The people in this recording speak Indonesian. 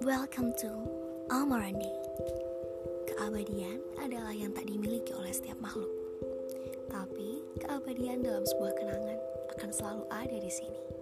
Welcome to Almarandi. Keabadian adalah yang tak dimiliki oleh setiap makhluk. Tapi keabadian dalam sebuah kenangan akan selalu ada di sini.